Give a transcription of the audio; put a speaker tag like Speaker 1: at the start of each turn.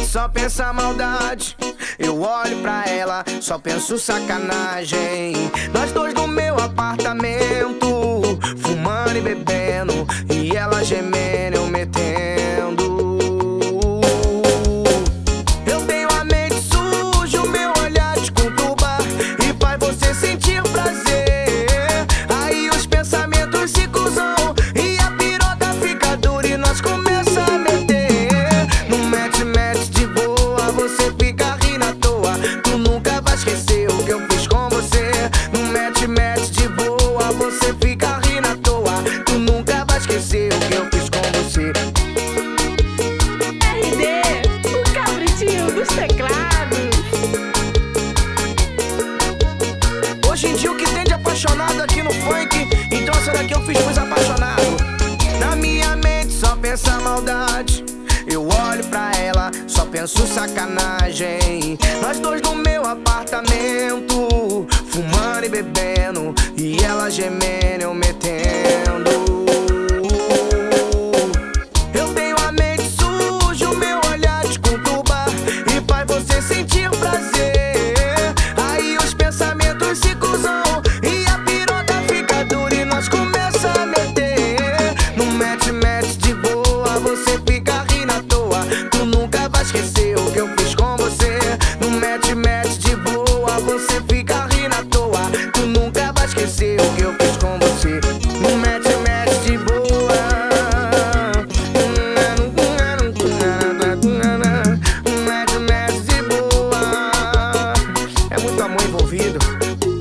Speaker 1: só pensa maldade. Eu olho pra ela, só penso sacanagem. Nós dois no meu apartamento, fumando e bebendo, e ela gemendo, eu metendo. Eu tenho a mente suja, o meu olhar te conturba e faz você sentir prazer. Aí os pensamentos se cruzam e a piroca fica dura e nós começa a meter. No mete-mete de boa, você fica rindo à toa. Tu nunca vai esquecer o que eu fiz com você. No mete-mete de boa, você fica rindo à toa. Tu nunca vai esquecer o que eu fiz com você.
Speaker 2: RD, o cabritinho dos teclados.
Speaker 1: Hoje em dia o que tem de apaixonado aqui no funk, então essa daqui eu fiz pros apaixonados. Na minha mente só pensa maldade. Eu olho pra ela, só penso sacanagem. Nós dois no meu apartamento, fumando e bebendo, e ela gemendo, eu metendo. Eu tenho a mente suja, o meu olhar te conturba e faz você sentir prazer. Aí os pensamentos se cruzam e a piroca fica dura e nós começa a meter. No mete-mete de boa, você fica rindo à toa. Tu nunca vai esquecer o que eu fiz com você. No mete-mete de boa, você fica rindo à toa. Tu nunca vai esquecer o que eu fiz com você. No mete-mete de boa. Mete-mete de boa. É muito amor envolvido.